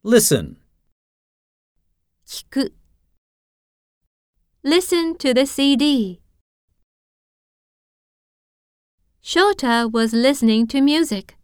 Listen. 聞く Listen to the CD. Shota was listening to music.